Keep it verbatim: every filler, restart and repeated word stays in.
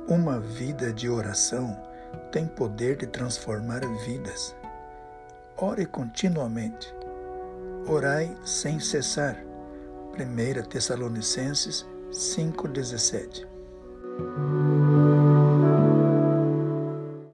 Uma vida de oração tem poder de transformar vidas. Ore continuamente. Orai sem cessar. primeira Tessalonicenses cinco, dezessete.